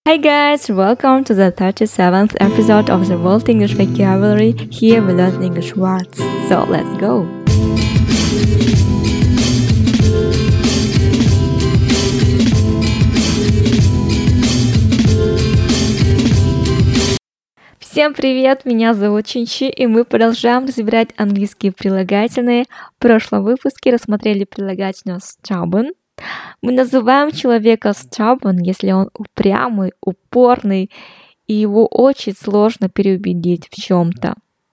Hi guys, welcome to the 37th episode of the World English Vocabulary. Here we learn English words. So let's go! Всем привет, меня зовут Чинчи, и мы продолжаем разбирать английские прилагательные. В прошлом выпуске рассмотрели прилагательное stubborn. Мы называем человека stubborn, если он упрямый, упорный, и его очень сложно переубедить в чем-то.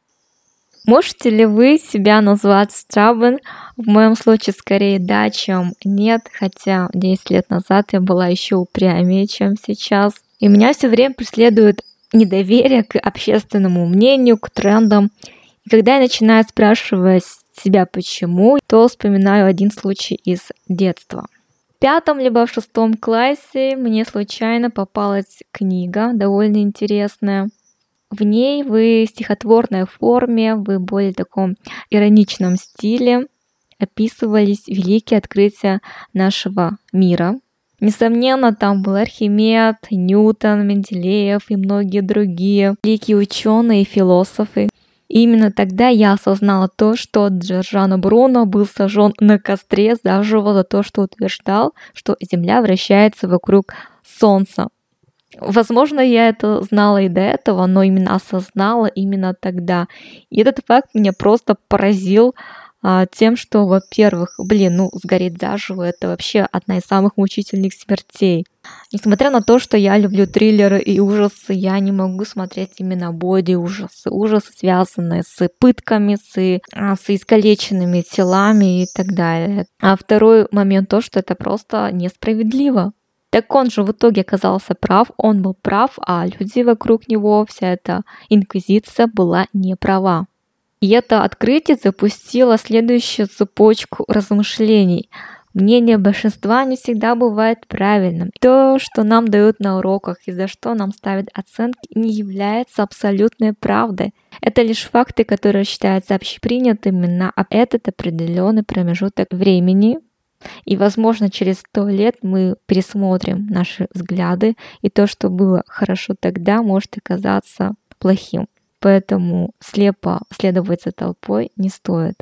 Можете ли вы себя назвать stubborn? В моем случае скорее да, чем нет, хотя 10 лет назад я была еще упрямее, чем сейчас. И меня все время преследует недоверие к общественному мнению, к трендам. И когда я начинаю спрашивать себя почему, то вспоминаю один случай из детства. В 5 либо в 6 классе мне случайно попалась книга, довольно интересная. В ней в стихотворной форме, в более таком ироничном стиле описывались великие открытия нашего мира. Несомненно, там был Архимед, Ньютон, Менделеев и многие другие великие ученые и философы. И именно тогда я осознала то, что Джорджано Бруно был сожжен на костре заживо за то, что утверждал, что Земля вращается вокруг Солнца. Возможно, я это знала и до этого, но именно осознала именно тогда. И этот факт меня просто поразил тем, что, во-первых, сгореть заживо — это вообще одна из самых мучительных смертей. Несмотря на то, что я люблю триллеры и ужасы, я не могу смотреть именно боди-ужасы, ужасы, связанные с пытками, с искалеченными телами и так далее. А второй момент то, что это просто несправедливо. Так он же в итоге оказался прав, он был прав, а люди вокруг него, вся эта инквизиция была не права. И это открытие запустило следующую цепочку размышлений. Мнение большинства не всегда бывает правильным. То, что нам дают на уроках и за что нам ставят оценки, не является абсолютной правдой. Это лишь факты, которые считаются общепринятыми на этот определенный промежуток времени. И, возможно, через 100 лет мы пересмотрим наши взгляды, и то, что было хорошо тогда, может оказаться плохим. Поэтому слепо следовать за толпой не стоит.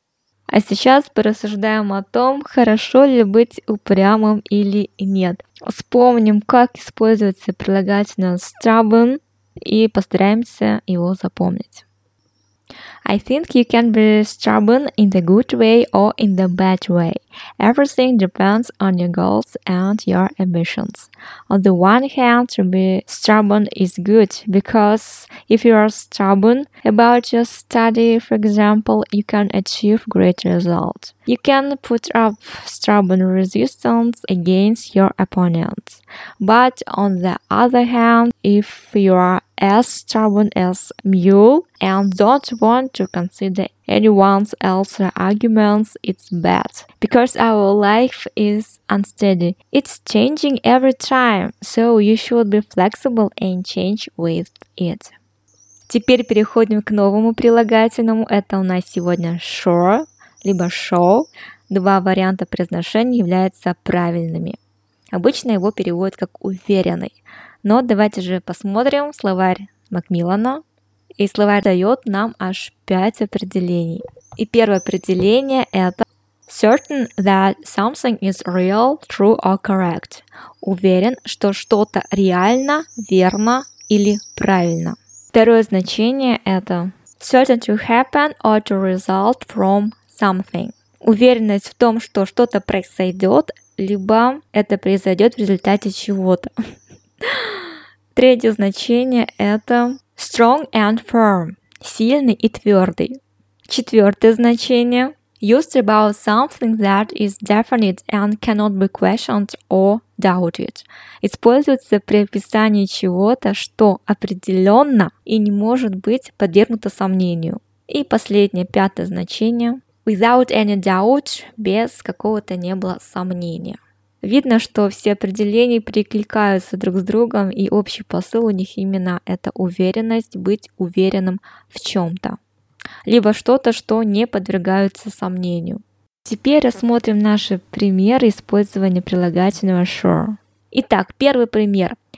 А сейчас порассуждаем о том, хорошо ли быть упрямым или нет. Вспомним, как используется прилагательное stubborn, и постараемся его запомнить. I think you can be stubborn in the good way or in the bad way. Everything depends on your goals and your ambitions. On the one hand, to be stubborn is good because if you are stubborn about your study, for example, you can achieve great results. You can put up stubborn resistance against your opponents. But on the other hand, if you are as stubborn as mule and don't want to consider anyone else's arguments, it's bad. Because our life is unsteady. It's changing every time, so you should be flexible and change with it. Теперь переходим к новому прилагательному. Это у нас сегодня sure, либо show. Два варианта произношения являются правильными. Обычно его переводят как уверенный. Но давайте же посмотрим словарь Макмиллана. И словарь дает нам аж 5 определений. И первое определение это certain that something is real, true or correct. Уверен, что что-то реально, верно или правильно. Второе значение это certain to happen or to result from something. Уверенность в том, что что-то произойдет, либо это произойдет в результате чего-то. Третье значение это strong and firm, сильный и твердый. Четвертое значение used about something that is definite and cannot be questioned or doubted. Используется при описании чего-то, что определенно и не может быть подвергнуто сомнению. И последнее, пятое значение without any doubt, без какого-то не было сомнения. Видно, что все определения перекликаются друг с другом, и общий посыл у них именно это уверенность, быть уверенным в чем-то. Либо что-то, что не подвергается сомнению. Теперь рассмотрим наши примеры использования прилагательного sure. Итак, первый пример.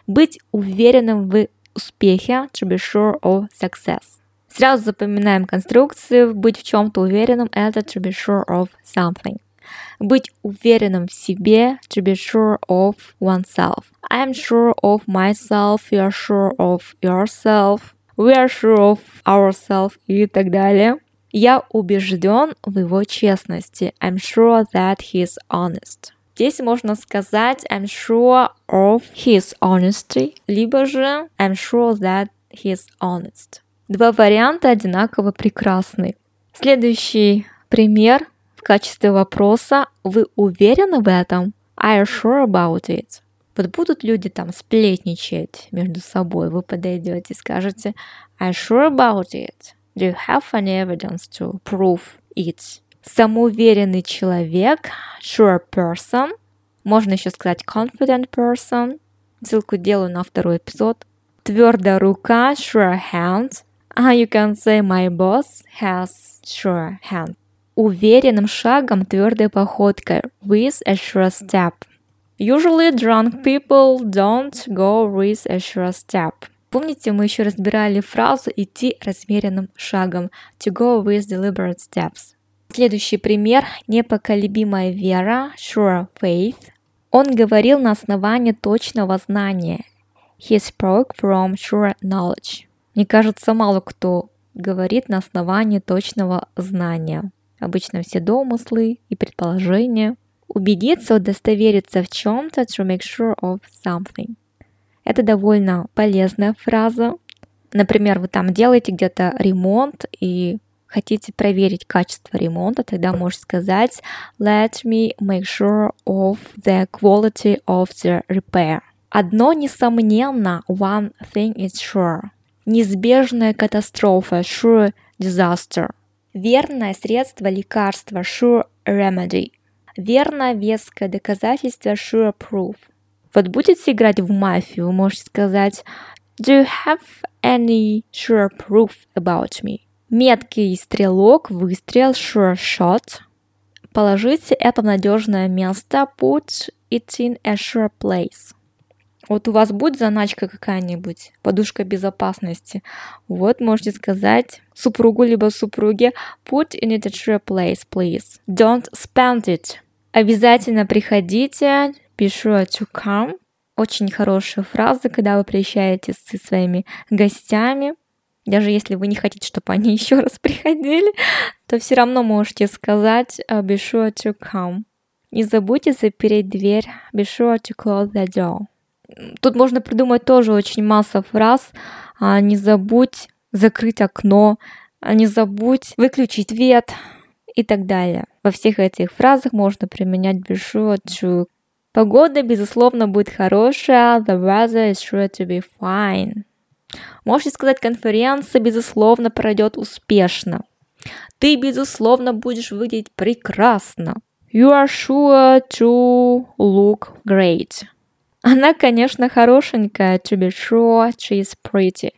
Быть уверенным в успехе, to be sure of success. Сразу запоминаем конструкцию. Быть в чем-то уверенным – это to be sure of something. Быть уверенным в себе, to be sure of oneself. I am sure of myself, you are sure of yourself, we are sure of ourselves и так далее. Я убежден в его честности. I'm sure that he is honest. Здесь можно сказать I'm sure of his honesty, либо же I'm sure that he is honest. Два варианта одинаково прекрасны. Следующий пример в качестве вопроса. Вы уверены в этом? Are you sure about it? Вот будут люди там сплетничать между собой. Вы подойдете и скажете Are you sure about it? Do you have any evidence to prove it? Самоуверенный человек, sure person. Можно еще сказать confident person. Ссылку делаю на второй эпизод. Твердая рука, sure hand. You can say my boss has sure hand. Уверенным шагом, твердой походкой, with a sure step. Usually drunk people don't go with a sure step. Помните, мы еще разбирали фразу «идти размеренным шагом» to go with deliberate steps. Следующий пример – непоколебимая вера, sure faith. Он говорил на основании точного знания. He spoke from sure knowledge. Мне кажется, мало кто говорит на основании точного знания. Обычно все домыслы и предположения. Убедиться, удостовериться в чем-то, to make sure of something. Это довольно полезная фраза. Например, вы там делаете где-то ремонт и хотите проверить качество ремонта, тогда можете сказать Let me make sure of the quality of the repair. Одно несомненно, one thing is sure. Неизбежная катастрофа, sure disaster. Верное средство лекарства, sure remedy. Верное веское доказательство, sure proof. Вот будете играть в мафию, вы можете сказать Do you have any sure proof about me? Меткий стрелок, выстрел, sure shot. Положите это в надежное место, put it in a sure place. Вот у вас будет заначка какая-нибудь, подушка безопасности. Вот можете сказать супругу либо супруге put in it a sure place, please. Don't spend it. Обязательно приходите, be sure to come. Очень хорошая фраза, когда вы приезжаете со своими гостями. Даже если вы не хотите, чтобы они еще раз приходили, то все равно можете сказать be sure to come. Не забудьте запереть дверь, be sure to close the door. Тут можно придумать тоже очень масса фраз. Не забудь закрыть окно, не забудь выключить свет и так далее. Во всех этих фразах можно применять be sure to. Погода, безусловно, будет хорошая. The weather is sure to be fine. Можете сказать, конференция, безусловно, пройдет успешно. Ты, безусловно, будешь выглядеть прекрасно. You are sure to look great. Она, конечно, хорошенькая. To be sure, she is pretty.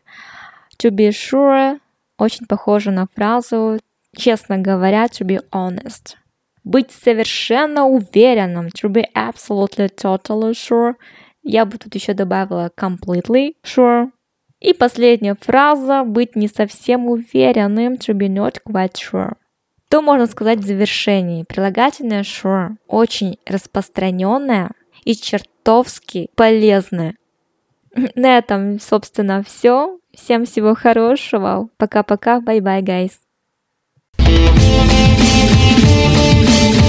To be sure очень похоже на фразу, честно говоря, to be honest. Быть совершенно уверенным. To be absolutely, totally sure. Я бы тут еще добавила completely sure. И последняя фраза. Быть не совсем уверенным. To be not quite sure. То можно сказать в завершении. Прилагательное sure очень распространенное и чертовски полезное. На этом, собственно, все. Всем всего хорошего. Пока-пока. Bye-bye, guys.